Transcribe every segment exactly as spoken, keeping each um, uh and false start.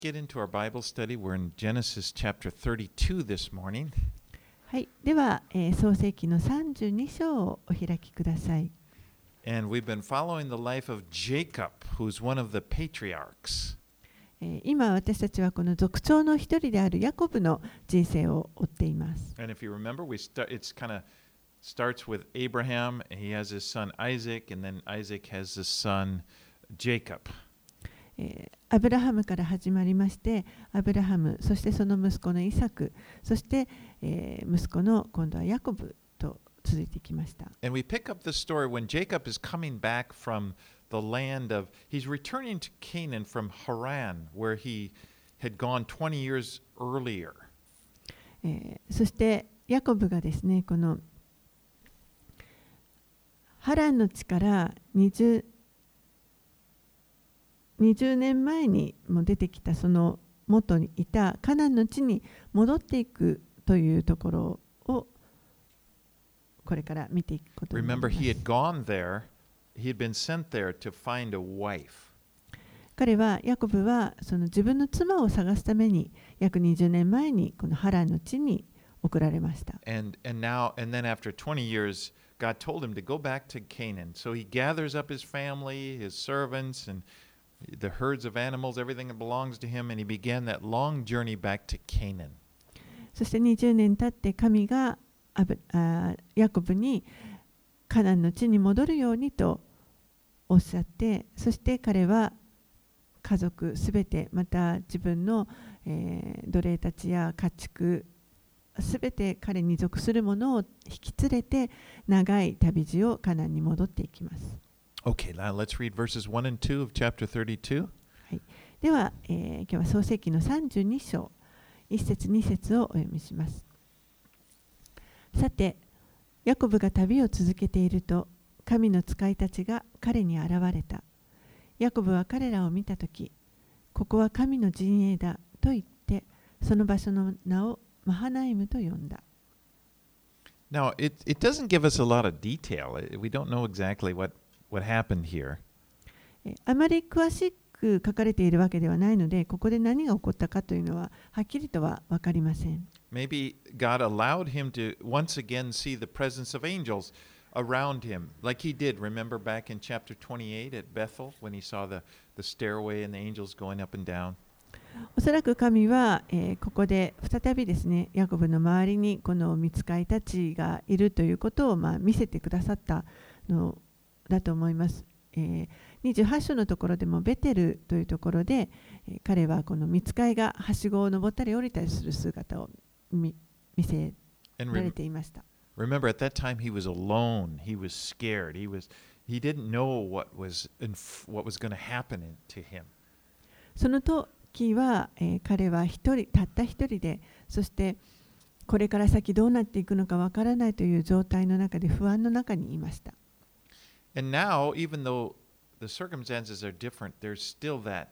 Get into our Bible study. We're in Genesis chapter thirty-two this morning. はい、では、えー、創世記のさんじゅうに章をお開きください。 And we've been following the life of Jacob, who's one of the patriarchs. えー、今私たちはこの族長の一人であるヤコブの人生を追っています。 And if you remember, we start, it's kind of starts with Abraham, and he has his son Isaac, and then Isaac has his son Jacob. えー、アブラハムから始まりまして、アブラハム、そしてその息子のイサク、そして、えー、息子の今度はヤコブと続いてきました。 And we pick up the story when Jacob is coming back from the land of, he's returning to Canaan from Haran, where he had gone twenty years earlier. えー、そしてヤコブがですね、このハランの地から20 20年前にも出てきたその元にいたカナンの地に戻っていくというところをこれから見ていくことになります。 Remember, he had gone there, he had been sent there to find a wife. 彼はヤコブはその自分の妻を探すために約にじゅうねんまえにこのハランの地に送られました。 And, and now, and then after twenty years, God told him to go back to Canaan. So he gathers up his family, his servants, and the herds of animals, everything that belongs to him, and he began that long journey back to Canaan. そしてにじゅうねん経って神がアブあヤコブにカナンの地に戻るようにとおっしゃって、そして彼は家族すべてまた自分の、えー、奴隷たちや家畜すべて彼に属するものを引き連れて長い旅路をカナンに戻っていきます。 Okay, now let's read verses one and two of chapter thirty-two. はい、では、えー、今日は創世記のさんじゅうに章いち節に節をお読みします。さて、ヤコブが旅を続けていると、神の使いたちが彼に現れた。ヤコブは彼らを見たとき、ここは神の陣営だと言って、その場所の名をマハナイムと呼んだ。 Now, it, it doesn't give us a lot of detail. We don't know exactly what, what happened here. あまり詳しく書かれているわけではないので、ここで何が起こったかというのははっきりとは分かりません。 Maybe God allowed him to once again see the presence of angels around him, like he did. Remember back in chapter twenty-eight at Bethel when he saw the, the stairway and the angels going up and down? おそらく神は、えー、ここで再びですね、ヤコブの周りにこの御使いたちがいるということを、まあ、見せてくださったのだと思います。えー、にじゅうはち章のところでもベテルというところで、えー、彼はこの御使いがはしごを登ったり降りたりする姿を 見, 見せられていました。 Remember, at that time he was alone. He was scared. He was he didn't know what was in, what was going to happen to him. その時は、えー、彼は一人たった一人で、そしてこれから先どうなっていくのかわからないという状態の中で不安の中にいました。 And now, even though the circumstances are different, there's still that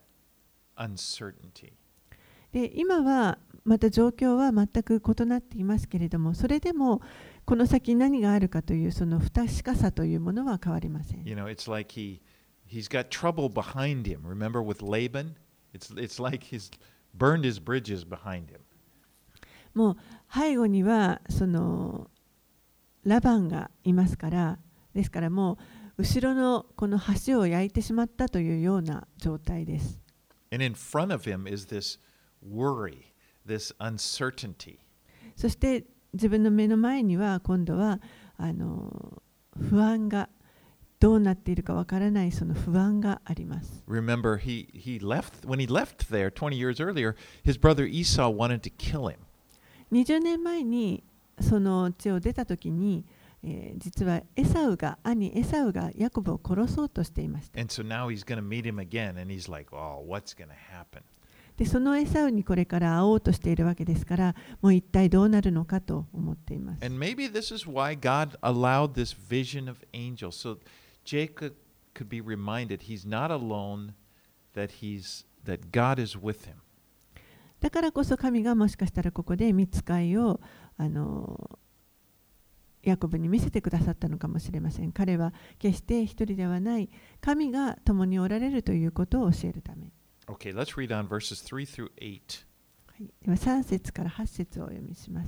uncertainty. で、今はまた状況は全く異なっていますけれども、それでもこの先何があるかというその不確かさというものは変わりません。 You know, it's like he he's got trouble behind him. Remember with Laban? It's it's like he's burned his bridges behind him. もう背後にはそのラバンがいますから、ですからもう後ろのこの橋を焼いてしまったというような状態です。 And in front of him is this worry, this uncertainty. そして自分の目の前には今度はあの不安がどうなっているかわからないその不安があります。 Remember, he, he left, when he left there twenty years earlier, his brother Esau wanted to kill him. にじゅうねんまえにその地を出たときに、えー、実はエサウが、兄エサウがヤコブを殺そうとしていました。 And so now he's going to meet him again, and he's like, oh, what's going to happen? で、そのエサウにこれから会おうとしているわけですから、もう一体どうなるのかと思っています。 And maybe this is why God allowed this vision of angels, so Jacob could be reminded he's not alone, that he's that God is with him. だからこそ神がもしかしたらここで御使いをあのヤコブに見せてくださったのかもしれません。彼は決して一人ではない、神が共におられるということを教えるため。 Okay, let's read on verses three through eight. はい、ではさん節からはち節をお読みします。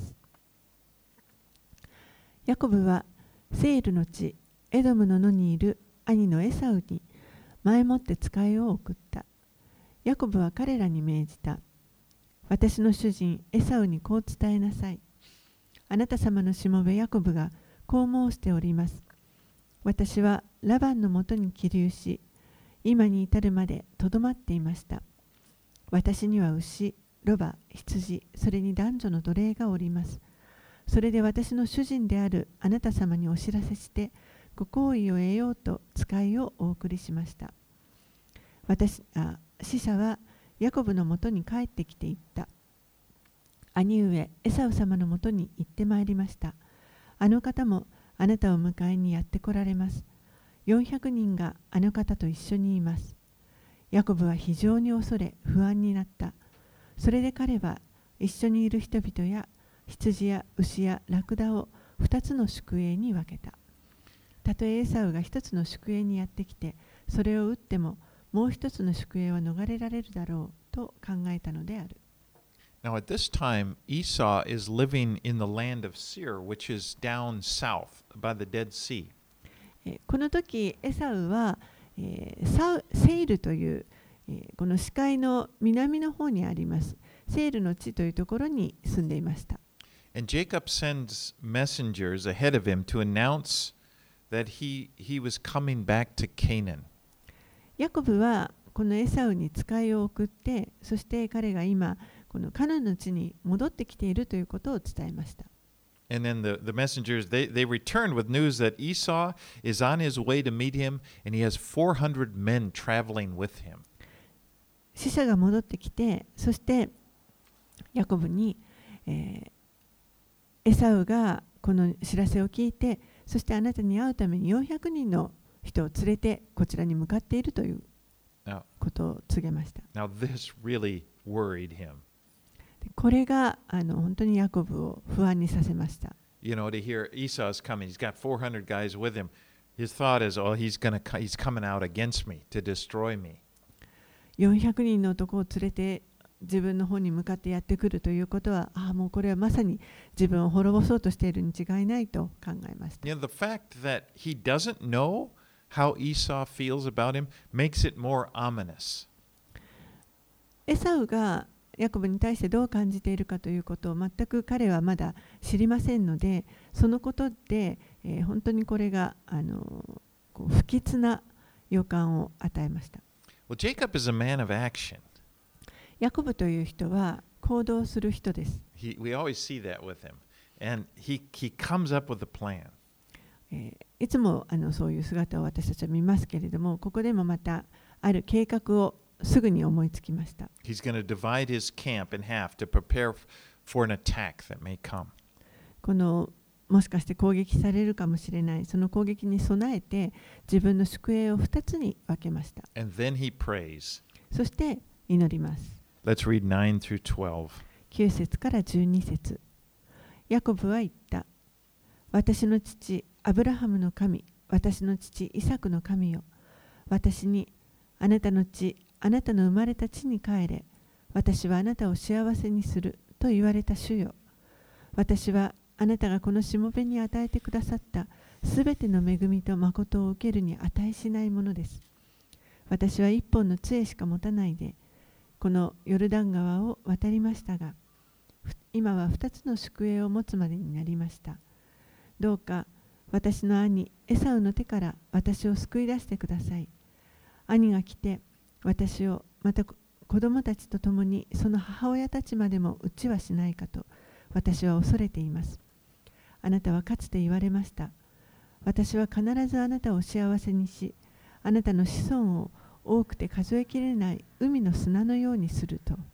ヤコブはセールの地エドムの野にいる兄のエサウに前もって使いを送った。ヤコブは彼らに命じた。私の主人エサウにこう伝えなさい。あなた様のしもべヤコブがこう申しております。私はラバンのもとに起立し、今に至るまでとどまっていました。私には牛、ロバ、羊、それに男女の奴隷がおります。それで私の主人であるあなた様にお知らせして、ご好意を得ようと使いをお送りしました。私あ使者はヤコブのもとに帰ってきていった。兄上エサウ様のもとに行ってまいりました。あの方もあなたを迎えにやって来られます。よんひゃくにんがあの方と一緒にいます。ヤコブは非常に恐れ不安になった。それで彼は一緒にいる人々や羊や牛やラクダを二つの宿営に分けた。たとえエサウが一つの宿営にやってきてそれを撃ってももう一つの宿営は逃れられるだろうと考えたのである。 Now at this time, Esau is living in the land of Seir, which is down south by the Dead Sea. この時エサウは、えー、サウセイルという、えー、この死海の南の方にありますセイルの地というところに住んでいました。 And Jacob sends messengers ahead of him to announce that he, he was coming back to Canaan. ヤコブはこのエサウに使いを送って、そして彼が今このカナンの地に戻ってきているということを伝えました。 And then the, the messengers, they, they returned with news that Esau is on his way to meet him, and he has four hundred men traveling with him. 使者が戻ってきて、そしてヤコブに、えー、エサウがこの知らせを聞いて、そしてあなたに会うためによんひゃくにんの人を連れてこちらに向かっているということを告げました。 Now, now this really worried him. これがあの本当にヤコブを不安にさせました。 You know, to hear Esau's coming, he's got four hundred guys with him. His thought is, oh, he's gonna, he's coming out against me to destroy me. よんひゃくにんの男を連れて自分の方に向かってやってくるということは、ああ、もうこれはまさに自分を滅ぼそうとしているに違いないと考えました。 You know, the fact that he doesn't know how Esau feels about him makes it more ominous. エサウがヤコブに対してどう感じているかということを全く彼はまだ知りませんので、そのことで、えー、本当にこれがあのこう不吉な予感を与えました。 Well, Jacob is a man of action. ヤコブという人は行動する人です。 He, we always see that with him. And he, he comes up with a plan. えー、いつもあのそういう姿を私たちは見ますけれども、ここでもまたある計画をすぐに思いつきました。 He's going to divide his camp in half to prepare for an attack that may come. このもしかして攻撃されるかもしれない、その攻撃に備えて自分の宿営をふたつに分けました。 And then he prays. そして祈ります。 Let's read nine through twelve. きゅう節からじゅうに節。ヤコブは言った。私の父アブラハムの神、私の父イサクの神よ。私にあなたの地、あなたの生まれた地に帰れ。私はあなたを幸せにすると言われた主よ。私はあなたがこのしもべに与えてくださったすべての恵みと誠を受けるに値しないものです。私は一本の杖しか持たないで、このヨルダン川を渡りましたが、今は二つの宿営を持つまでになりました。どうか私の兄エサウの手から私を救い出してください。兄が来て私をまた子供たちと共にその母親たちまでも討ちはしないかと私は恐れています。あなたはかつて言われました。私は必ずあなたを幸せにし、あなたの子孫を多くて数えきれない海の砂のようにすると。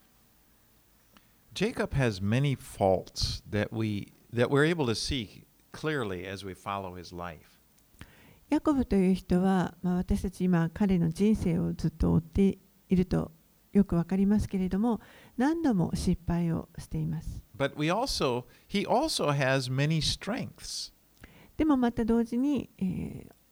Jacob has many faults that we that we're able to see clearly as we follow his life. ヤコブという人は、まあ、私たち今彼の人生をずっと追っているとよくわかりますけれども、何度も失敗をしています。 But we also, he also has many strengths. でもまた同時に、えー、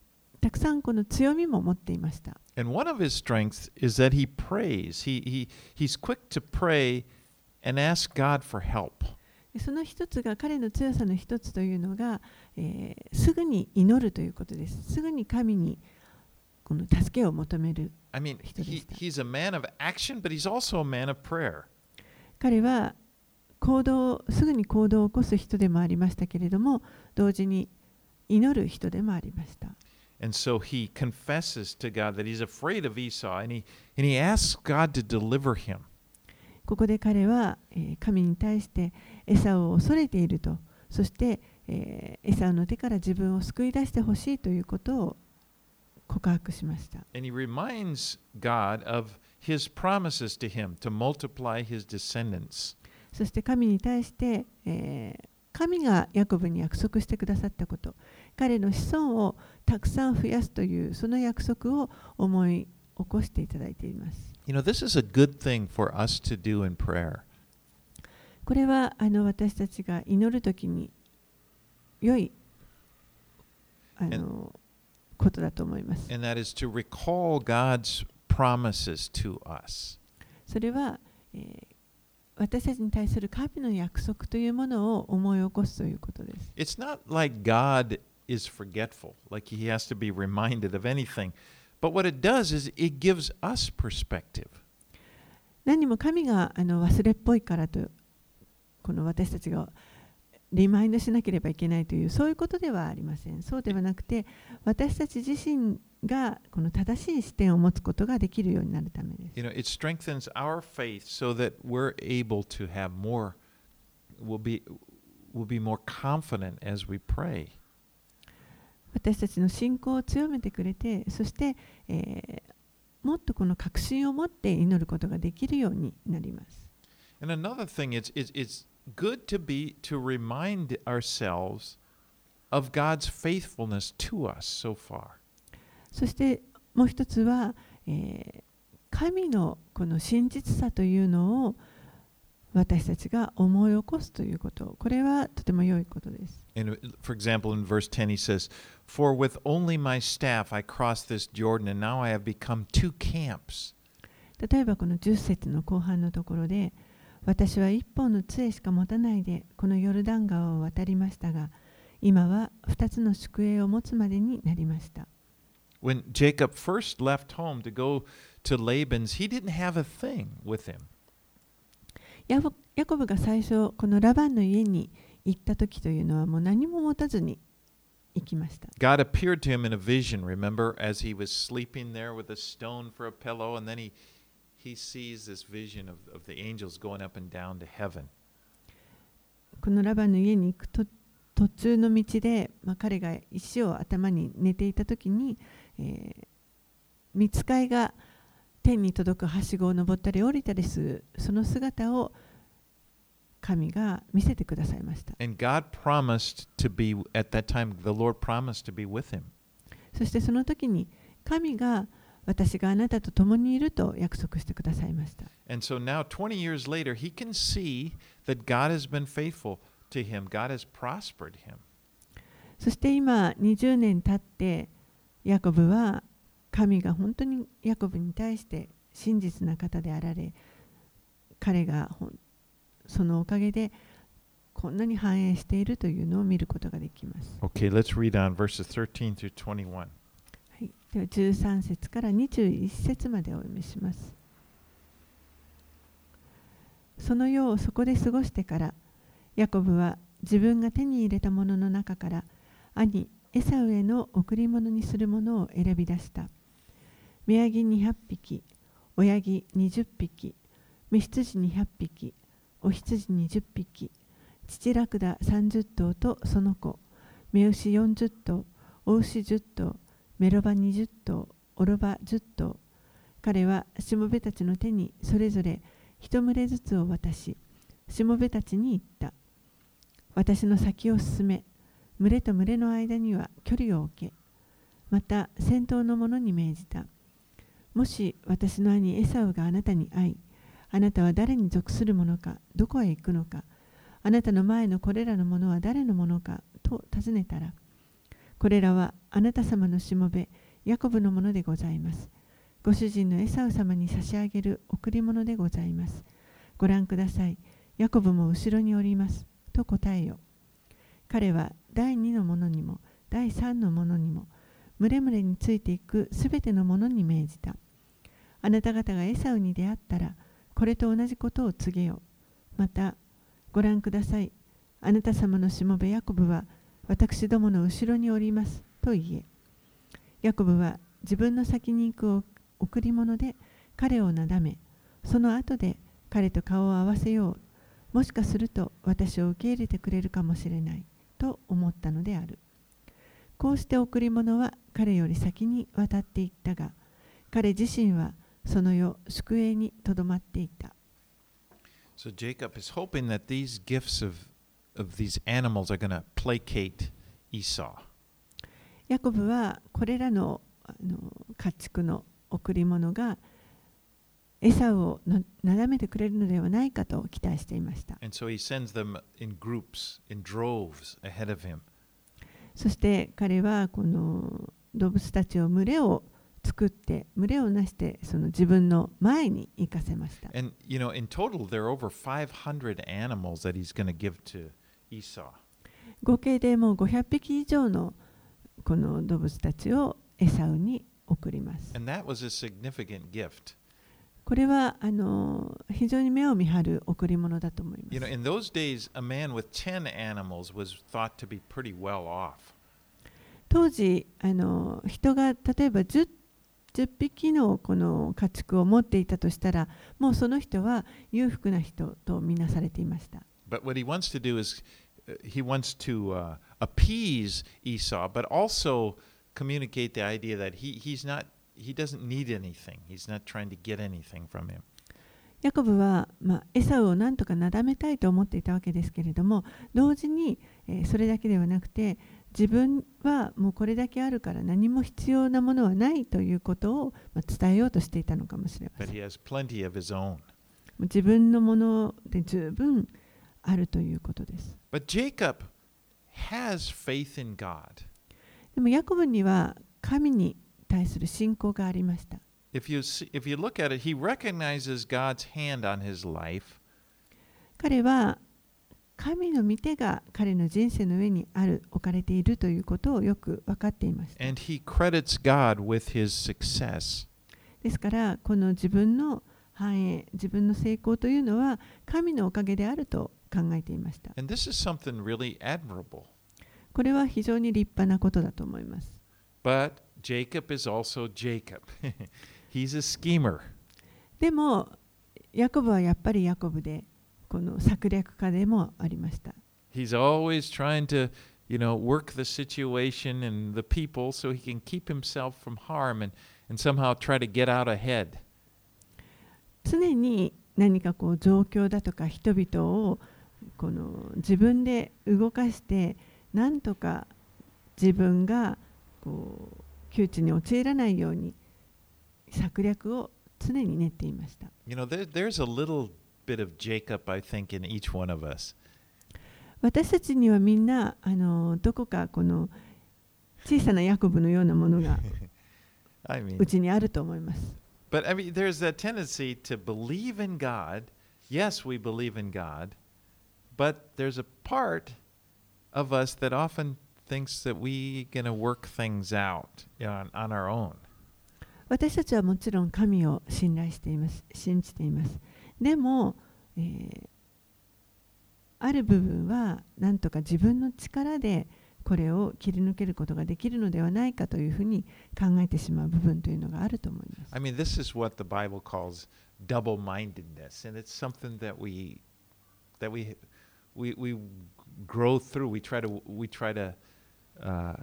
たくさんこの強みも持っていました。 And one of his strengths is that he prays. He, he, he's quick to pray and ask God for help. その一つが彼の強さの一つというのが、えー、すぐに祈るということです。すぐに神にこの助けを求める I mean, 人で he, した。 he's a man of action, but he's also a man of prayer. 彼は行動、すぐに行動を起こす人でもありましたけれども、同時に祈る人でもありました。 And so he confesses to God that he's afraid of Esau, and he, and he asks God to deliver him. ここで彼は、えー、神に対してエサウを恐れていると、そして、えー、エサウの手から自分を救い出してほしいということを告白しました。 And he reminds God of his promises to him to multiply his descendants. そして神に対して、えー、神がヤコブに約束してくださったこと、彼の子孫をたくさん増やすというその約束を思い起こしていただいています。 You know, this is a good thing for us to do in prayer. これはあの私たちが祈るときに良いあのことだと思います。 And that is to recall God's promises to us. それは、えー、私たちに対する神の約束というものを思い起こすということです。 It's not like God is forgetful, like he has to be reminded of anything. But what it does is it gives us perspective. 何も神があの忘れっぽいからと、この私たちがリマインドしなければいけないというそういうことではありません。そうではなくて、私たち自身がこの正しい視点を持つことができるようになるためです。 You know, it strengthens our faith so that we're able to have more, we'll be, we'll be more confident as we pray. 私たちの信仰を強めてくれて、そして、えー、もっとこの確信を持って祈ることができるようになります。 And another thing is, is it's good to be to remind ourselves of God's faithfulness to us so far. そしてもう一つは、えー、神のこの真実さというのを私たちが思い起こすということ、これはとても良いことです。 And for example, in verse ten, he says, "For with only my staff I crossed this Jordan, and now I have become two camps." 例えばこのじゅっ節の後半のところで、私は一本の杖しか持たないでこのヨルダン川を渡りましたが、今は二つの宿営を持つまでになりました。 When Jacob first left home to go to Laban's, he didn't have a thing with him. ヤコブが最初このラバンの家に行った時というのはもう何も持たずに行きました。 God appeared to him in a vision, remember, as he was sleeping there with a stone for a pillow, and then he, he sees this vision of, of the angels going up and down to heaven. このラバンの家に行くと途中の道で、まあ、彼が石を頭に寝ていた時に、えー、御使いが天に届くはしごを登ったり降りたりするその姿を神が見せてくださいました。 And God promised to be, at that time, the Lord promised to be with him. そしてその時に神が私があなたと共にいると約束してくださいました。 And so now, twenty years later, he can see that God has been faithful to him. God has prospered him. そして今にじゅうねん経ってヤコブは神が本当にヤコブに対して真実な方であられ、彼がそのおかげでこんなに繁栄しているというのを見ることができます。 Okay, let's read on verses thirteen through twenty-one. はい、ではじゅうさん節からにじゅういち節までお読みします。その夜をそこで過ごしてから、ヤコブは自分が手に入れたものの中から兄エサウへの贈り物にするものを選び出した。目ヤギにひゃっぴき、親ギにじゅっぴき、雌羊にひゃっぴき、お羊にじゅっぴき、父ラクダさんじゅっ頭とその子、雌牛よんじゅっ頭、お牛じゅっ頭、メロバにじゅっ頭、オロバじゅっ頭。彼はしもべたちの手にそれぞれ一群れずつを渡し、しもべたちに言った。私の先を進め、群れと群れの間には距離を置け。また先頭の者に命じた。もし私の兄エサウがあなたに会い、あなたは誰に属するものか、どこへ行くのか、あなたの前のこれらのものは誰のものかと尋ねたら、 これらはあなた様のしもべヤコブのものでございます。ご主人のエサウ様に差し上げる贈り物でございます。ご覧ください。ヤコブも後ろにおります。と答えよ。彼は第二のものにも第三のものにも群れ群れについていくすべてのものに命じた。あなた方がエサウに出会ったらこれと同じことを告げよ。またご覧ください。あなた様のしもべヤコブは私どもの後ろにおりますと言え。ヤコブは自分の先に行く贈り物で彼をなだめ、その後で彼と顔を合わせよう。もしかすると私を受け入れてくれるかもしれないと思ったのである。こうして贈り物は彼より先に渡っていったが、彼自身はその夜宿営にとどまっていた。 So Jacob is hoping that these gifts of, of these animals are going to placate Esau. ヤコブはこれらの、あの家畜の贈り物がエサウをのなだめてくれるのではないかと期待していました。 And so he sends them in groups, in droves ahead of him. そして彼はこの動物たちを群れを作って群れをなしてその自分の前に行かせました。 And you know, in total there are over five hundred animals that he's going to give to Esau. 合計でもうごひゃくぴき以上のこの動物たちをエサウに送ります。 And that was a significant gift. これはあの非常に目を見張る贈り物だと思います。 You know, in those days, a man with ten animals was thought to be pretty well off. 当時あの人が例えば 10, 10匹のこの家畜を持っていたとしたら、もうその人は裕福な人とみなされていました。 But what he wants to do is he wants to uh, appease Esau, but also communicate the idea that he, he's not, he doesn't need anything. He's not trying to get anything from him. ヤコブは、まあ、エサウを何とかなだめたいと思っていたわけですけれども、同時に、えー、それだけではなくて、自分はもうこれだけあるから何も必要なものはないということを、まあ、伝えようとしていたのかもしれません。 But he has plenty of his own. 自分のもので十分あるということです。 But Jacob has faith in God. でもヤコブには神に対する信仰がありました。 If you see, if you look at it, he recognizes God's hand on his life. 彼は神の御手が彼の人生の上にある置かれているということをよく分かっていました。 And he credits God with his success. ですからこの自分の繁栄、自分の成功というのは神のおかげであると考えていました。 And this is something really admirable. これは非常に立派なことだと思います。 But Jacob is also Jacob. He's a schemer. でもヤコブはやっぱりヤコブで、この策略家でもありました。 He's always trying to, you know, work the situation and the people so he can keep himself from harm and, and somehow try to get out ahead. 常に何かこう状況だとか人々をこの自分で動かしてなんとか自分がこう窮地に陥らないように策略を常に練っていました。 You know, there, there's a little bit of Jacob, I think, in each one of us. 私たちにはみんなあのどこかこの小さなヤコブのようなものが I mean, うちにあると思います。 but I mean, there's that tendency to believe in God. Yes, we believe in God, but there's a part of us that often thinks that we're going to work things out, you know, on, on our own. 私たちはもちろん神を信頼しています。信じています。でも、えー、ある部分はなんとか自分の力でこれを切り抜けることができるのではないかというふうに考えてしまう部分というのがあると思います。 I mean, this is what the Bible calls double-mindedness, and it's something that we that we we we grow through. We try to we try to uh,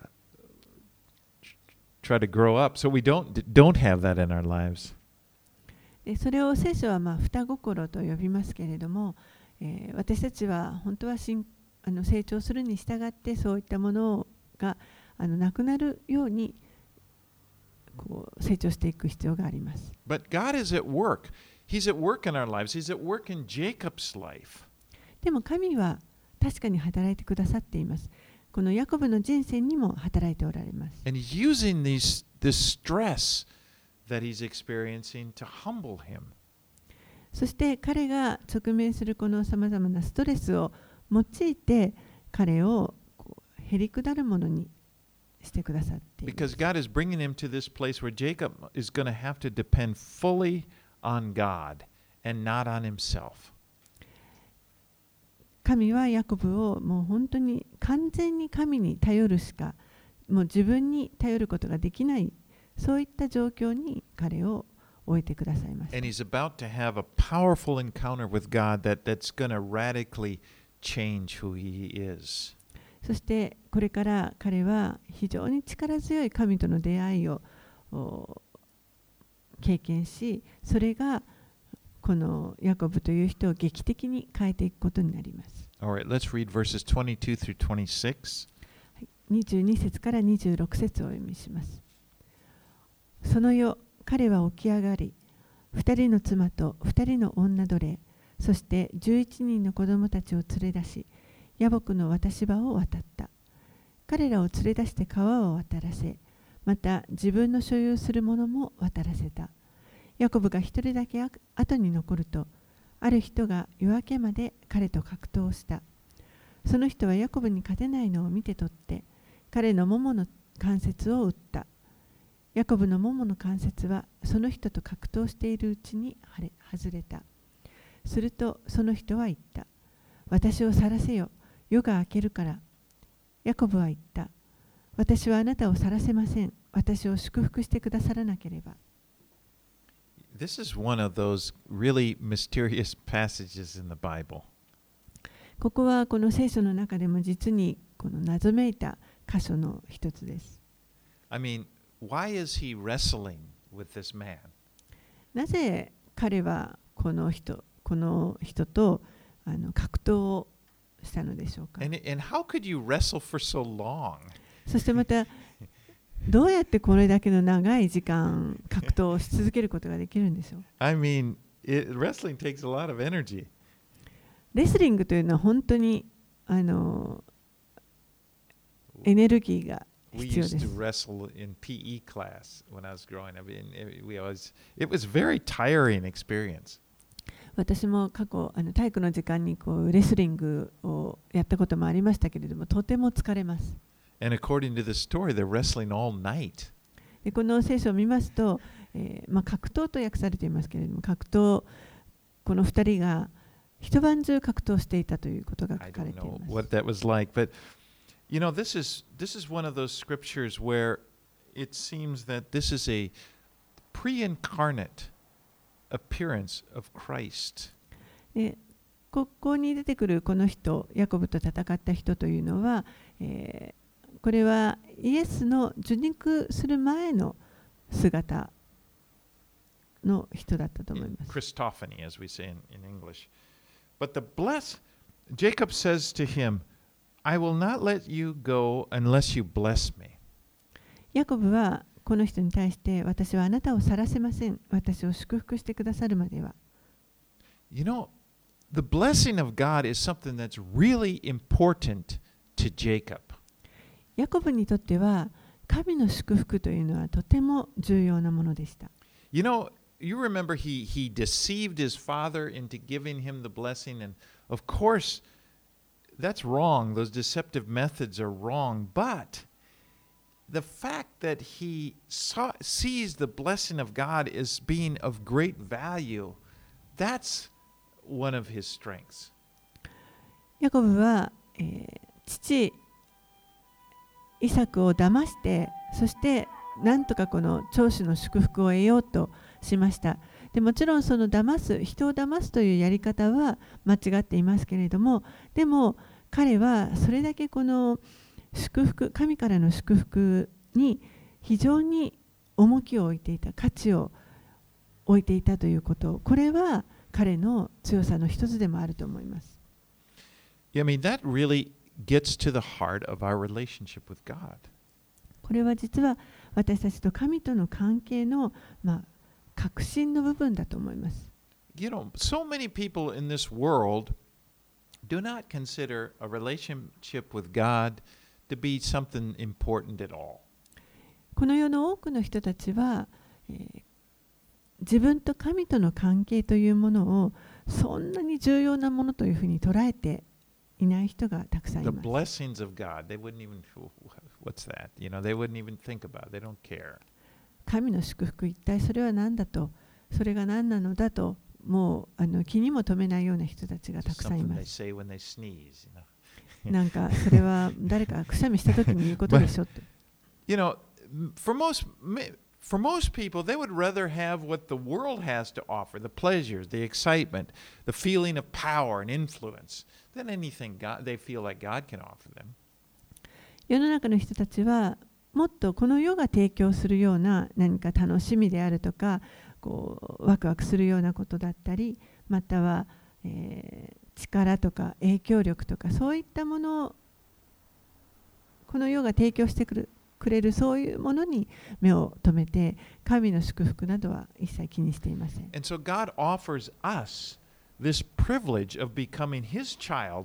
try to grow up, so we don't don't have that in our lives. でそれを聖書はまあ双心と呼びますけれども、えー、私たちは本当はしんあの成長するに従ってそういったものがあのなくなるようにこう成長していく必要があります。 But God is at work. He's at work in our lives. He's at work in Jacob's life. でも神は確かに働いてくださっています。 このヤコブの人生にも働いておられます。 And he's using these, this stress that he's experiencing to humble him. そして彼が直面するこのさまざまなストレスを用いて彼をこうへりくだるものにしてくださっています。 Because God is bringing him to this place where Jacob is going to have to depend fully on God and not on himself. 神はヤコブをもう本当に完全に神に頼るしか、もう自分に頼ることができない、そういった状況に彼を置いてくださいました。 And he's about to have a powerful encounter with God that, that's going to radically change who he is. そしてこれから彼は非常に力強い神との出会いを経験し、それがこのヤコブという人を劇的に変えていくことになります。 All right, let's read verses twenty-two through twenty-six. にじゅうに節からにじゅうろく節をお読みします。その夜、彼は起き上がり、二人の妻と二人の女奴隷、そして十一人の子供たちを連れ出し、ヤボクの渡し場を渡った。彼らを連れ出して川を渡らせ、また自分の所有するものも渡らせた。ヤコブが一人だけ後に残ると、ある人が夜明けまで彼と格闘した。その人はヤコブに勝てないのを見て取って、彼のももの関節を打った。ヤコブのももの関節はその人と格闘しているうちに外れた。するとその人は言った。私を晒せよ。夜が明けるから。ヤコブは言った。私はあなたを晒せません。私を祝福してくださらなければ。 This is one of those really mysterious passages in the Bible. ここはこの聖書の中でも実にこの謎めいた箇所の一つです。 I mean, why is he wrestling with this man? なぜ彼はこの人、この人とあの格闘をしたのでしょうか。 And, and how could you wrestle for so long? そしてまたどうやってこれだけの長い時間格闘をし続けることができるんでしょう。 I mean, it, wrestling takes a lot of energy. レスリングというのは本当にあのエネルギーが We 必要 used で to す。 wrestle in P E class when I was growing up. And it, we always, it was a very tiring experience. 私も過去あの体育の時間にこうレスリングをやったこともありましたけれども、とても疲れます。 And according to the story, they're wrestling all night. でこの聖書を見ますと、えーまあ、格闘と訳されていますけれども、格闘、このふたりが一晩中格闘していたということが I 書かれ don't てい know ます。 what that was like, but you know, this is this is one of those scriptures where it seems that this is a pre-incarnate appearance of Christ. でここに出てくるこの人、ヤコブと戦った人というのは、えーこれはイエスの受肉する前の姿の人だったと思います。 Christophany, as we say in, in English. But the bless, Jacob says to him, I will not let you go unless you bless me. ヤコブはこの人に対して、私はあなたを晒せません。私を祝福してくださるまでは。 You know, the blessing of God is something that's really important to Jacob. ヤコブにとっては神の祝福というのはとても重要なものでした。 You know, you remember he, he deceived his father into giving him the blessing, and of course, that's wrong. Those deceptive methods are wrong. But the fact that he saw, sees the blessing of God as being of great value, that's one of his strengths. ヤコブは、えー、父イサクを騙して、そしてなんとかこの長子の祝福を得ようとしました。でもちろんその騙す、人を騙すというやり方は間違っていますけれども、でも彼はそれだけこの祝福、神からの祝福に非常に重きを置いていた、価値を置いていたということ、これは彼の強さの一つでもあると思います。 I mean, that really gets to the heart of our relationship with God. これは実は私たちと神との関係の、まあ、核心の部分だと思います。 You know, so many people in this world do not consider a relationship with God to be something important at all. この世の多くの人たちは、えー自分と神との関係というものをそんなに重要なものというふうに捉えていない人がたくさんい The ます。 blessings of God, they wouldn't even, what's that? You know, they wouldn't even think about it. They don't care. 神の祝福、一体それは何だと、それが何なのだと、もうあの気にも留めないような人たちがたくさんい Something ま they す。 say when they sneeze, you know. なんかそれは誰かがくしゃみしたときに言うことでしょって。 You know, for most for most people, they would rather have what the world has to offer, the pleasures, the excitement, the feeling of power and influence, than anything God, they feel like God can offer them. 世の中の人たちはもっとこの世が提供するような何か楽しみであるとか、こうワクワクするようなことだったり、または、えー、力とか影響力とかそういったものをこの世が提供してくるくれるそういうものに目を留めて、神の祝福などは一切気にしていません。 And so God offers us this privilege of becoming His child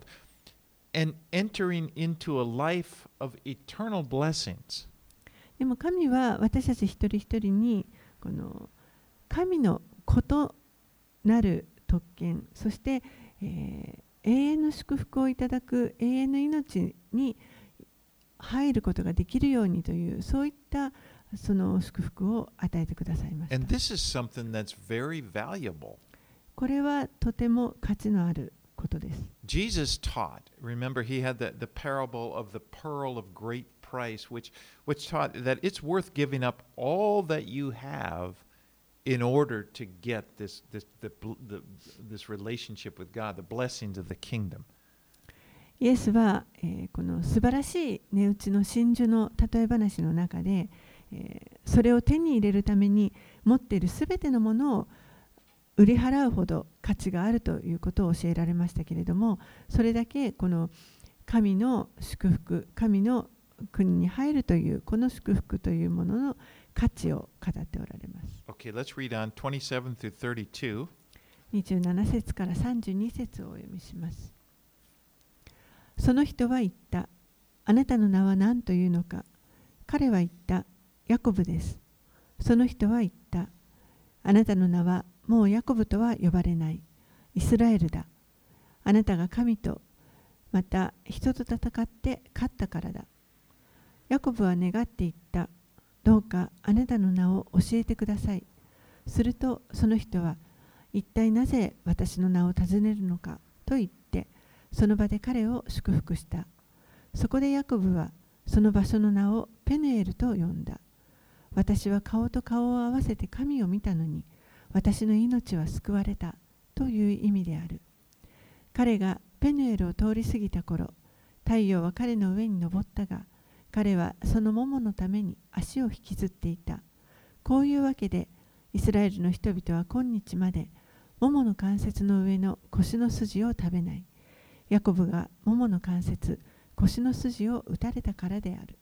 and entering into a life of eternal blessings. でも神は私たち一人一人にこの神の子となる特権、そして、えー、永遠の祝福をいただく永遠の命に入ることができるようにというそういったその祝福を与えてくださいました。 And this is something that's very valuable. これはとても価値のあることです。 Jesus taught, remember he had the, the parable of the pearl of great price, which, which taught that it's worth giving up all that you have in order to get this, this, the, the, this relationship with God, the blessings of the kingdom. イエスは、えー、この素晴らしい値打ちの真珠の例え話の中で、えー、それを手に入れるために持っているすべてのものを売り払うほど価値があるということを教えられましたけれども、それだけこの神の祝福、神の国に入るというこの祝福というものの価値を語っておられます。 Okay, let's read on twenty-seven through thirty-two. にじゅうなな節からさんじゅうに節をお読みします。その人は言った。あなたの名は何というのか。彼は言った。ヤコブです。その人は言った。あなたの名はもうヤコブとは呼ばれない。イスラエルだ。あなたが神と、また人と戦って勝ったからだ。ヤコブは願って言った。どうかあなたの名を教えてください。するとその人は、一体なぜ私の名を尋ねるのかと言って、その場で彼を祝福した。そこでヤコブはその場所の名をペヌエルと呼んだ。私は顔と顔を合わせて神を見たのに、私の命は救われたという意味である。彼がペヌエルを通り過ぎた頃、太陽は彼の上に昇ったが、彼はその桃のために足を引きずっていた。こういうわけで、イスラエルの人々は今日まで桃の関節の上の腰の筋を食べない。ヤコブが桃の関節、腰の筋を打たれたからである。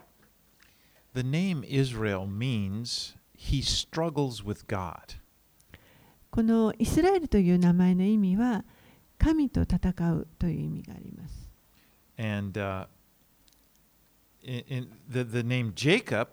The name Israel means he struggles with God. このイスラエルという名前の意味は、神と戦うという意味があります。 And uh, in, in the, the name Jacob,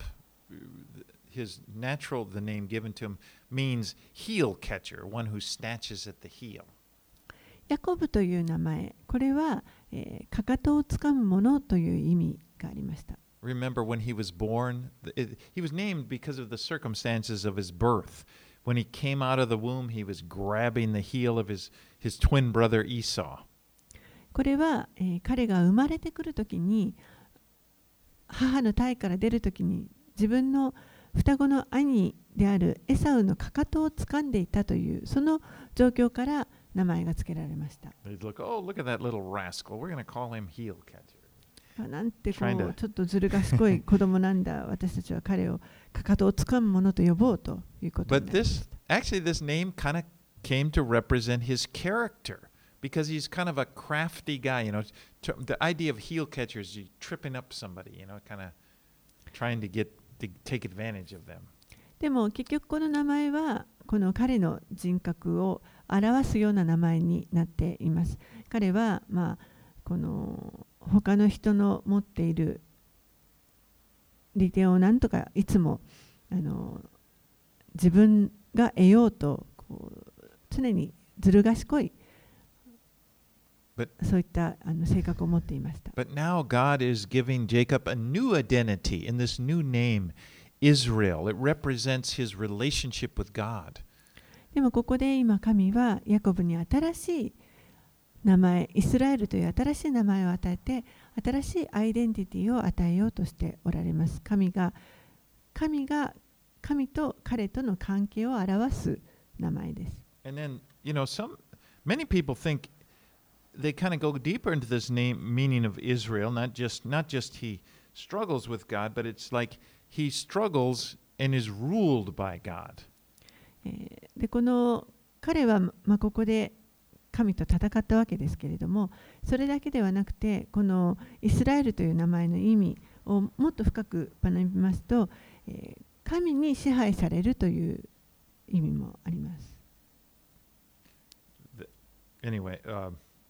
his natural, the name given to him, means heel catcher, one who snatches at the heel. ヤコブという名前、これは、えー、かかとをつかむものという意味がありました。 Remember when he was born, it, he was named because of the circumstances of his birth. When he came out of the womb, he was grabbing the heel of his, his twin brother Esau. これは、えー、彼が生まれてくるときに、母の胎から出るときに、自分の双子の兄であるエサウのかかとをつかんでいたという、その状況から名前が付けられました。 Look, oh, look at that little rascal. We're going to call him heel catcher. なんてこうちょっとずる賢い子供なんだ。私たちは彼をかかとをつかむものと呼ぼうということになりました。 But this, actually, this name kind of came to represent his character because he's kind of a crafty guy. You know, the idea of heel catcher is you tripping up somebody. You know, kind of trying to get to take advantage of them. でも結局この名前はこの彼の人格を表すような名前になっています。彼はまあこの他の人の持っている利点をなんとかいつもあの自分が得ようとこう常にずる賢い But, そういったあの性格を持っていました。 but now God is giving Jacob a new identity in this new name, Israel. It represents his relationship with God. でもここで今神はヤコブに新しい名前、イスラエルという新しい名前を与えて、新しいアイデンティティを与えようとしておられます。神が、神が、神と彼との関係を表す名前です。 And then, you know, some many people think they kind of go deeper into this name meaning of Israel, not just not just he struggles with God, but it's like he struggles and is ruled by God. で、この彼は、まあ、ここで神と戦ったわけですけれども、それだけではなくて、このイスラエルという名前の意味をもっと深く学びますと、えー、神に支配されるという意味もあります。 Anyway, uh,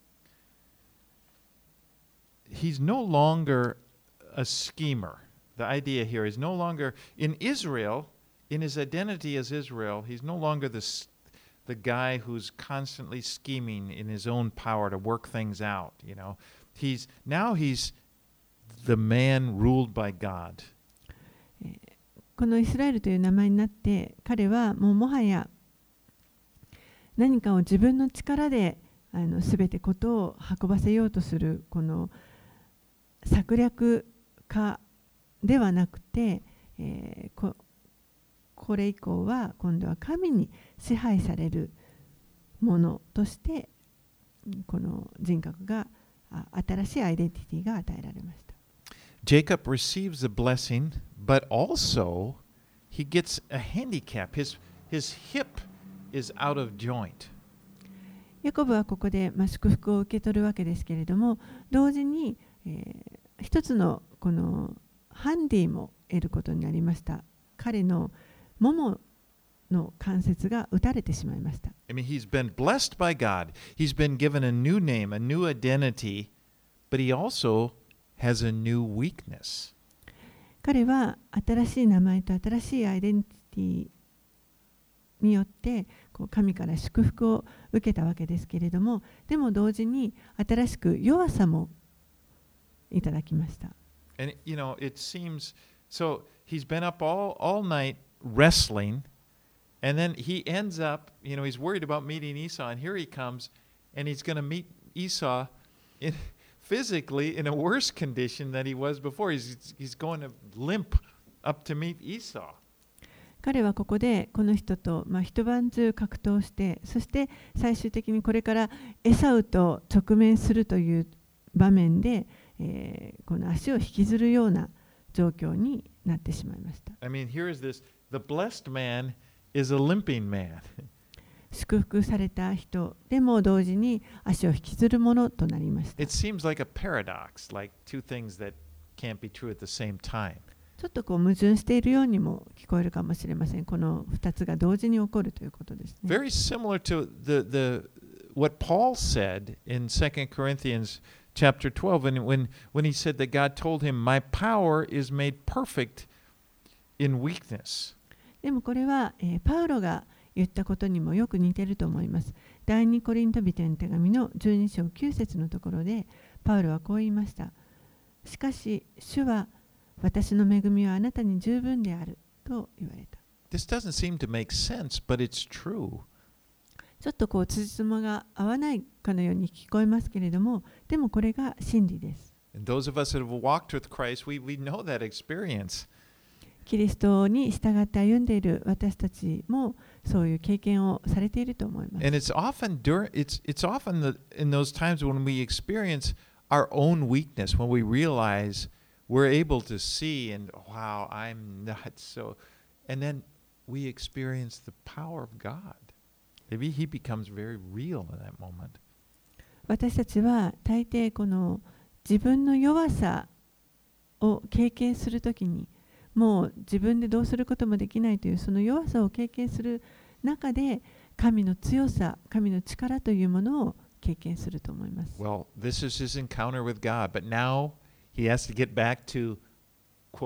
he's no longer a schemer. The idea here is no longer in Israel, in his identity as Israel, he's no longer the the guy who's constantly scheming in his own power to work things out, you know. He's now he's the man ruled by God. このイスラエルという名前になって、彼はもうもはや何かを自分の力であの全てことを運ばせようとするこの策略家ではなくて、えー、ここれ以降は今度は神に支配されるものとしてこの人格が新しいアイデンティティが与えられました。 Jacob receives the blessing, but also he gets a handicap. His, his hip is out of joint. ヤコブはここで、まあ、祝福を受け取るわけですけれども、同時に、えー、一つのこのハンディも得ることになりました。彼のももの関節が打たれてしまいました。 I mean, he's been blessed by God. He's been given a new name, a new identity, but he also has a new weakness. 彼は新しい名前と新しいアイデンティティによってこう神から祝福を受けたわけですけれども、でも同時に新しく弱さもいただきました。 And you know, it seems so he's been up all all night wrestling, and then he ends up, you know, he's worried about meeting Esau, and here he comes, and he's going to meet Esau in, physically in a worse condition than he was before. He's, he's going to limp up to meet Esau. 彼はここでこの人と、まあ、一晩中格闘して、そして最終的にこれからエサウと直面するという場面で、えー、この足を引きずるような状況になってしまいました。 I mean, here is this: the blessed man is a limping man. 祝福された人でも同時に足を引きずるものとなりました。 It seems like a paradox, like two things that can't be true at the same time. ちょっとこう矛盾しているようにも聞こえるかもしれません。このふたつが同時に起こるということですね。 Very similar to the the what Paul said in Second Corinthians chapter twelve, and when when he said that God told him, "My power is made perfect in weakness." でもこれは、えー、パウロが言ったことにもよく似ていると思います。第二コリント人への手紙のじゅうに章きゅう節のところで、パウロはこう言いました。しかし、主は私の恵みはあなたに十分であると言われた。 This doesn't seem to make sense, but it's true. ちょっとこう辻褄が合わないかのように聞こえますけれども、でもこれが真理です。 And those of us that have walked with Christ, we, we know that experience. キリストに従って歩んでいる私たちもそういう経験をされていると思います。 And it's often during it's it's often the, in those times when we experience our own weakness, when we realize we're able to see and wow, I'm not so, and then we experience the power of God. Maybe He becomes very real in that moment. 私たちは大抵この自分の弱さを経験するときにもう自分でどうすることもできないというその弱さを経験する中で神の強さ、神の力というものを経験すると思います。 Well, this is his encounter with God, but now he has to get back to, quote,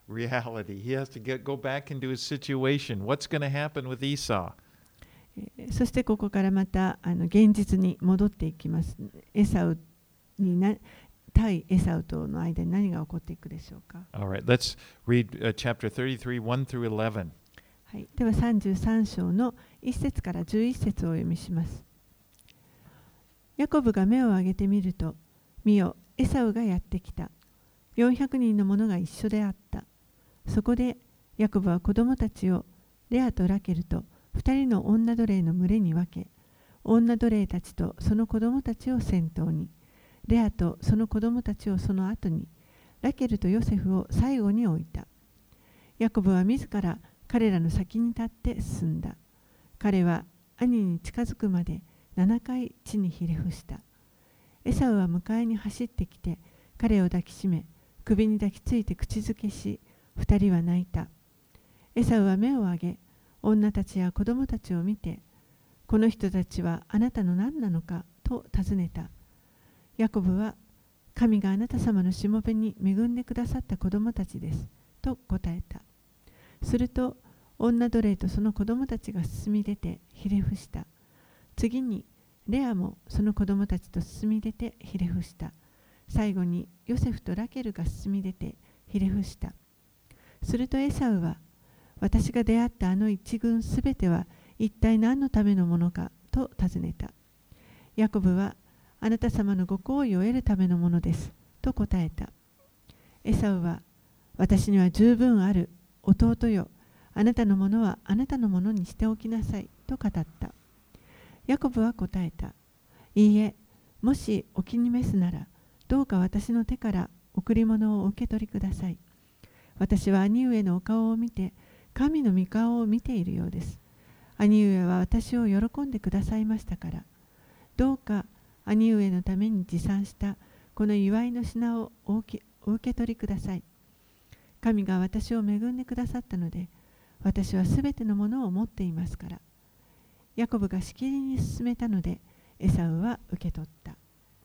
reality. He has to get, go back into his situation. What's going to happen with Esau? えーそしてここからまたあの現実に戻っていきます。エサウにな対エサウとの間に何が起こっていくでしょうか。 All right, let's read uh, chapter thirty-three, one through eleven. はい、ではさんじゅうさん章のいっ節からじゅういっ節をお読みします。ヤコブが目を上げてみると、見よ、エサウがやってきた。よんひゃくにんの者が一緒であった。そこでヤコブは子供たちをレアとラケルと二人の女奴隷の群れに分け、女奴隷たちとその子供たちを先頭に、レアとその子供たちをその後に、ラケルとヨセフを最後に置いた。ヤコブは自ら彼らの先に立って進んだ。彼は兄に近づくまでななかい地にひれ伏した。エサウは迎えに走ってきて、彼を抱きしめ、首に抱きついて口づけし、二人は泣いた。エサウは目を上げ、女たちや子供たちを見て、この人たちはあなたの何なのかと尋ねた。ヤコブは、神があなた様のしもべに恵んでくださった子供たちです、と答えた。すると、女奴隷とその子供たちが進み出てひれ伏した。次に、レアもその子供たちと進み出てひれ伏した。最後に、ヨセフとラケルが進み出てひれ伏した。するとエサウは、私が出会ったあの一軍すべては一体何のためのものかと尋ねた。ヤコブは、あなた様のご好意を得るためのものです、と答えた。エサウは、私には十分ある、弟よ、あなたのものはあなたのものにしておきなさい、と語った。ヤコブは答えた。いいえ、もしお気に召すなら、どうか私の手から贈り物をお受け取りください。私は兄上のお顔を見て、神の御顔を見ているようです。兄上は私を喜んでくださいましたから、どうか兄上のために持参したこの祝いの品をお受け、お受け取りください。神が私を恵んでくださったので、私はすべてのものを持っていますから。ヤコブがしきりに進めたので、エサウは受け取った。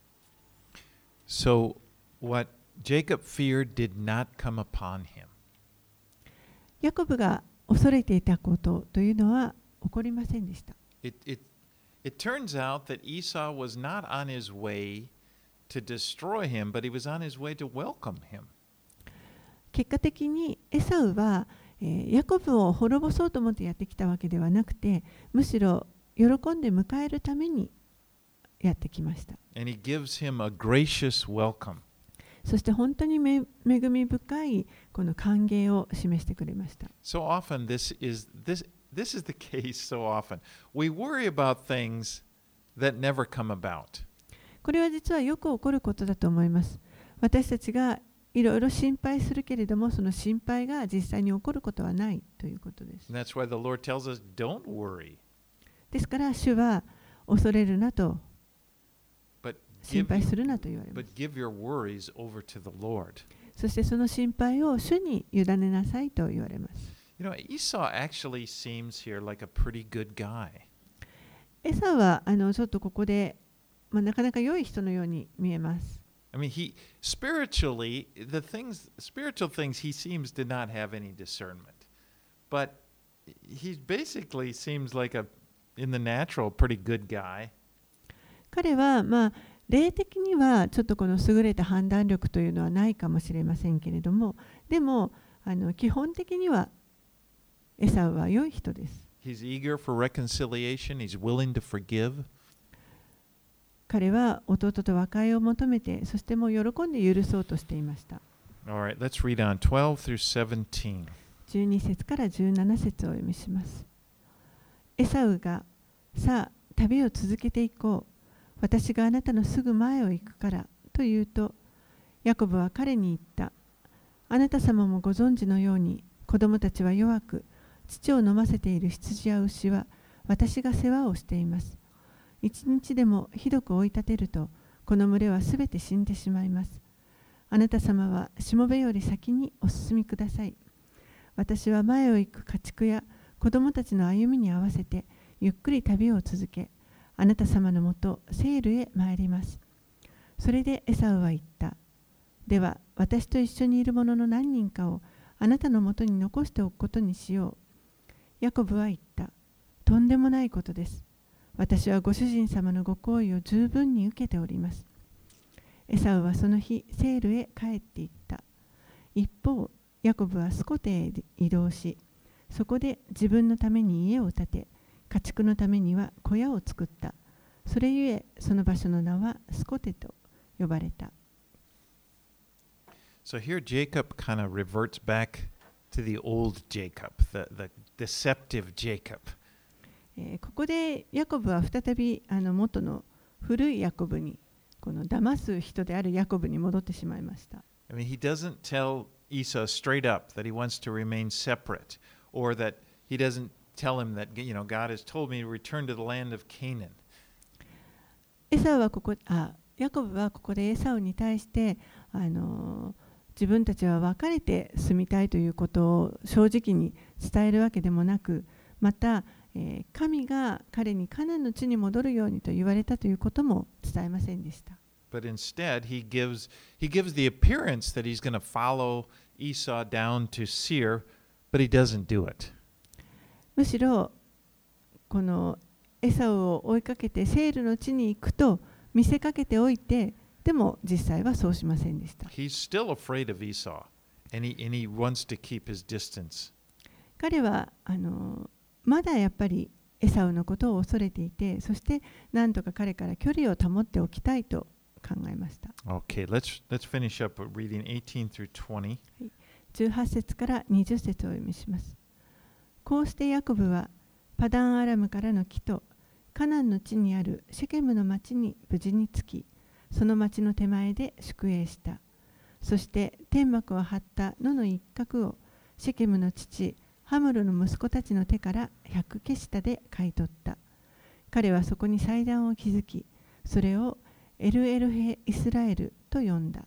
So, what Jacob feared did not come upon him. ヤコブが恐れていたことというのは起こりませんでした。 It, it, it turns out that Esau was not on his way to destroy him, but he was on his way to welcome him. 結果的にエサウは、えー、ヤコブを滅ぼそうと思ってやってきたわけではなくて、むしろ喜んで迎えるためにやってきました。 And he gives him a gracious welcome. そして本当に恵み深いこの歓迎を示してくれました。 So often this is this this is the case so often. We worry about things that never come about. これは実はよく起こることだと思います。私たちがいろいろ心配するけれども、その心配が実際に起こることはないということです。 And that's why the Lord tells us, don't worry. ですから、主は恐れるなと、 But 心 give, 配するなと言われま but す。 give your worries over to the Lord. そしてその心配を主に委ねなさいと言われます。 You know, Esau actually seems here like a pretty good guy. エサはあのちょっとここで、まあ、なかなか良い人のように見えます。 I mean, he spiritually, the things, spiritual things, he seems to not have any discernment. But he basically seems like a, in the natural, pretty good guy. 彼は、まあ、霊的にはちょっとこの優れた判断力というのはないかもしれませんけれども、でもあの基本的にはエサウは良い人です。 He's eager for reconciliation. He's willing to forgive. 彼は弟と和解を求めて、そしてもう喜んで許そうとしていました。 All right, let's read on twelve through seventeen. じゅうに節からじゅうなな節をお読みします。エサウが、さあ、旅を続けていこう。私があなたのすぐ前を行くから、と言うと、ヤコブは彼に言った。あなた様もご存知のように、子供たちは弱く、乳を飲ませている羊や牛は、私が世話をしています。一日でもひどく追い立てると、この群れはすべて死んでしまいます。あなた様はしもべより先にお進みください。私は前を行く家畜や子供たちの歩みに合わせて、ゆっくり旅を続け、あなた様のもと、セールへ参ります。それでエサウは言った。では、私と一緒にいる者の何人かをあなたのもとに残しておくことにしよう。ヤコブは言った。とんでもないことです。私はご主人様のご好意を十分に受けております。エサウはその日、セールへ帰っていった。一方、ヤコブはスコテへ移動し、そこで自分のために家を建て、家畜のためには小屋を作った。それゆえ、その場所の名はスコテと呼ばれた。 So here Jacob kind of reverts back to the old Jacob, the, the deceptive Jacob. えーここでヤコブは再びあの元の古いヤコブに、この騙す人であるヤコブに戻ってしまいました。 I mean, he doesn't tell Esau straight up that he wants to remain separate, or that he doesn't tell him that, you know, God has told me to return to the land of Canaan. エサウはここあヤコブはここでエサウに対してあの自分たちは別れて住みたいということを正直に伝えるわけでもなく、また、えー神が彼にカナンの地に戻るようにと言われたということも伝えませんでした。 But instead, he gives he gives the appearance that he's going to follow Esau down to Seir, but he doesn't do it. むしろこのエサウを追いかけてセールの地に行くと見せかけておいて、でも実際はそうしませんでした。 He's still afraid of Esau, and he and he wants to keep his distance. 彼はあのまだやっぱりエサウのことを恐れていて、そして何とか彼から距離を保っておきたいと考えました。 Okay, let's let's finish up with reading eighteen through twenty. じゅうはち節からにじゅう節をお読みします。こうしてヤコブはパダンアラムからの木とカナンの地にあるシェケムの町に無事に着き、その町の手前で宿営した。そして天幕を張った野の一角をシェケムの父ハムルの息子たちの手から百ケシタで買い取った。彼はそこに祭壇を築き、それをエルエルヘイスラエルと呼んだ。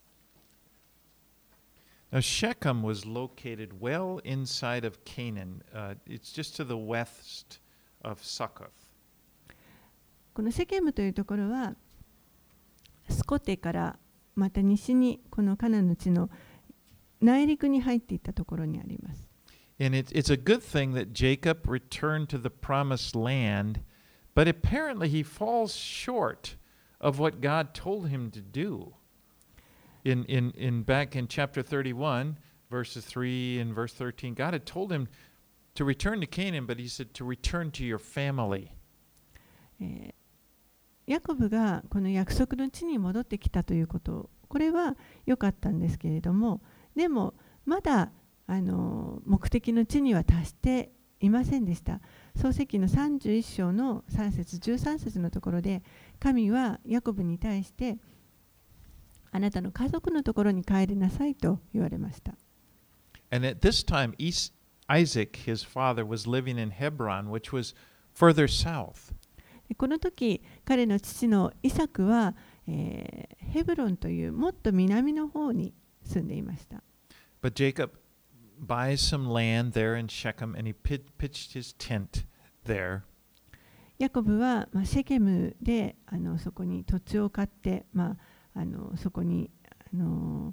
Now Shechem was located well inside of Canaan. Uh, it's just to the west of Succoth. このシェケムというところはスコテからまた西にこのカナンの地の内陸に入っていったところにあります。 And it's, it's a good thing that Jacob returned to the promised land, but apparently he falls short of what God told him to do. In, in, in back in chapter thirty-one, verses three and verse thirteen, God had told him to return to Canaan, but he said to return to your family. えーヤコブがこの約束の地に戻ってきたということ、これは良かったんですけれども、でもまだあの目的の地には達していませんでした。創世記のさんじゅういっ章のさん節じゅうさん節のところで、神はヤコブに対してあなたの家族のところに帰りなさいと言われました。 And at this time, Isaac, his father, was living in Hebron, which was further south. この時彼の父のイサクは、えー、ヘブロンというもっと南の方に住んでいました。 But Jacob buys some land there in Shechem, and he pitched his tent there. ヤコブは、まあ、シェケムであのそこに土地を買って、まあ、あのそこにあの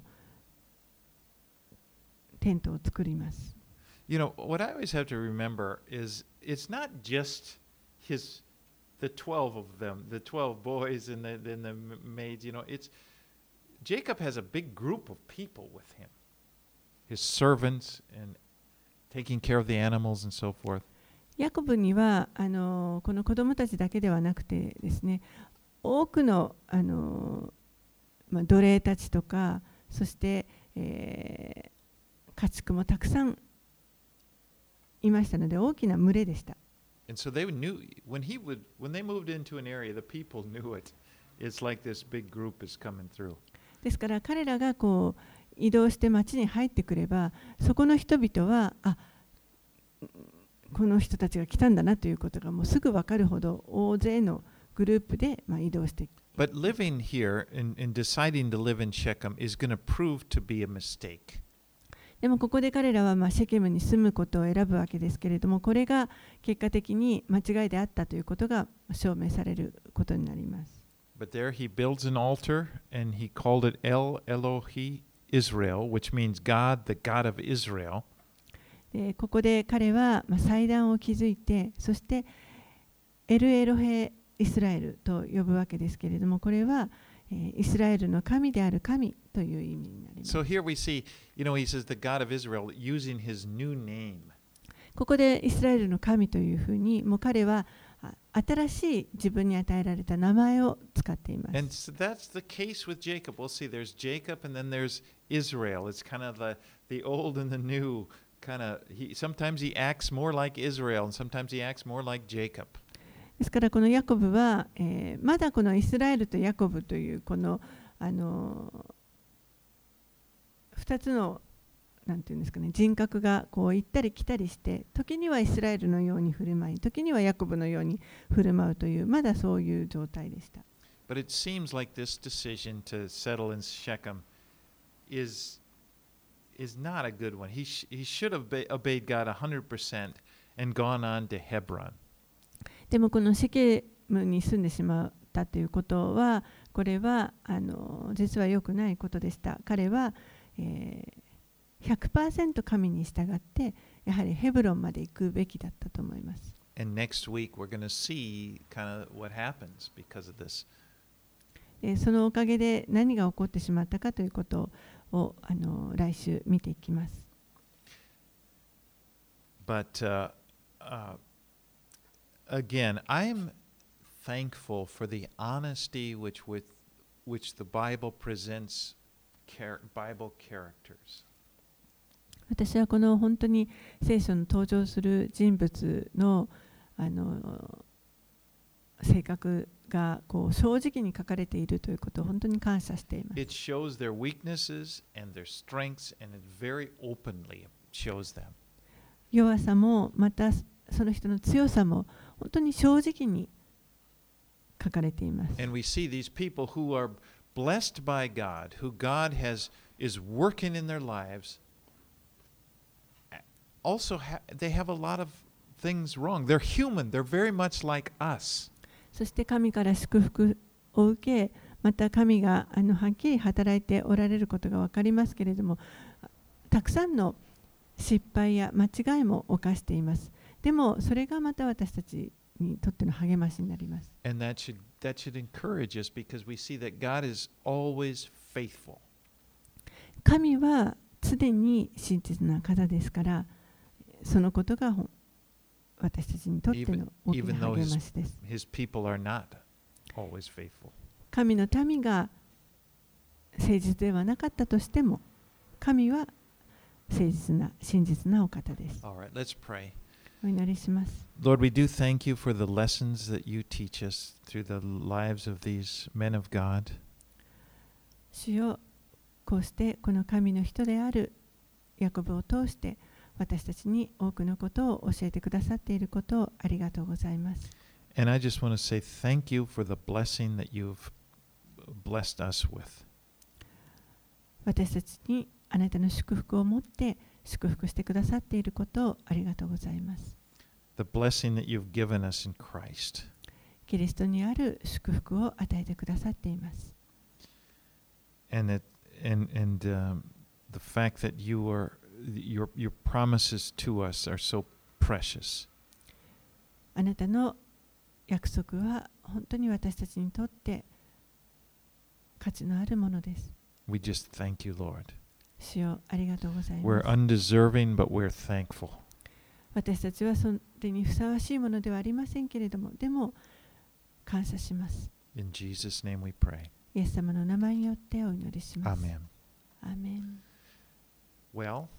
テントを作ります。 You know, what I always have to remember is it's not just his the twelve of them, the twelve boys and the, and the maids, you know, it's Jacob has a big group of people with him, his servants and taking care of the animals and so forth. ヤコブにはあのこの子供たちだけではなくてですね、多くのあの、まあ、奴隷たちとか、そして、えー、家畜もたくさんいましたので、大きな群れでした。 And so they knew when he would when they moved into an area, the people knew it. It's like this big group is coming through. ですから彼らがこう移動して町に入ってくれば、そこの人々はあこの人たちが来たんだなということがもうすぐ分かるほど大勢のグループで、まあ、移動して。 But living here and, and deciding to live in Shechem is going to prove to be a mistake. でもここで彼らはまあシェケムに住むことを選ぶわけですけれども、これが結果的に間違いであったということが証明されることになります。 But there he builds an altar and he called it El Elohi Israel, which means God, the God of Israel. でここで彼は、まあ、祭壇を築いて、そしてエルエロヘイスラエルと呼ぶわけですけれども、これは、えーイスラエルの神である神という意味になります。 So here we see, you know, he says the God of Israel using his new name. ここでイスラエルの神というふうに、もう彼はあ新しい自分に与えられた名前を使っていま And す。 so that's the case with Jacob. We'll see there's Jacob and then there's Israel. It's kind of the, the old and the new kind of, he, sometimes he acts more like Israel and sometimes he acts more like Jacob. ですからこのヤコブは、えーまだこのイスラエルとヤコブというこの、あのふたつのなんていうんですかね、人格がこう行ったり来たりして、時にはイスラエルのように振る舞い、時にはヤコブのように振る舞うという、まだそういう状態でした。 But it seems like this decision to settle in Shechem is, is not a good one. He, sh- he should have be- obeyed God one hundred percent and gone on to Hebron. でもこのシェケムに住んでしまったということは、これはあの実は良くないことでした。彼は、えー、ひゃくパーセント 神に従って、やはりヘブロンまで行くべきだったと思います。 And next week we're going to see kind of what happens because of this. でそのおかげで何が起こってしまったかということをあの来週見ていきます。 But uh, uh, again, I'm thankful for the honesty which with which the Bible presents char- Bible characters. 私はこの本当に聖書の登場する人物のあの性格がこう正直に書かれているということを本当に感謝しています。 It shows their weaknesses and their strengths, and it very openly shows them. 弱さもまたその人の強さも本当に正直に書かれています。 And we see these people who are blessed by God, who God has is working in their lives. Also, ha- they have a lot of things wrong. They're human. They're very much like us. そして神から祝福を受け、また神があのはっきり働いておられることが分かりますけれども、たくさんの失敗や間違いも犯しています。でもそれがまた私たちにとっての励ましになります。 And that should that should encourage us because we see that God is always faithful. 神は常に真実な方ですから、そのことが私たちにとっての大きな励ましです。 His people are not always faithful. 神の民が誠実ではなかったとしても、神は誠実な真実なお方です。 All right, let's pray. お祈りします。 Lord, we do thank you for the lessons that you teach us through the lives of these men of God. 主よ、こうしてこの神の人であるヤコブを通して私たちに多くのことを教えてくださっていることをありがとうございます。 And I just want to say thank you for the blessing that you've blessed us with. 私たちにあなたの祝福を持って祝福してくださっていることをありがとうございます。 The blessing that you've given us in Christ. キリストにある祝福を与えてくださっています。 And that and and um, the fact that you are your your promises to us are so precious. あなたの約束は本当に私たちにとって価値のあるものです。 We just thank you, Lord. 主よ、ありがとうございま We're す。 undeserving, but we're thankful. 私たちはそれにふさわしいものではありませんけれども、でも感謝します。 In Jesus' name we pray. イエス様の名前によってお祈りします。 Amen. アーメン。 Well,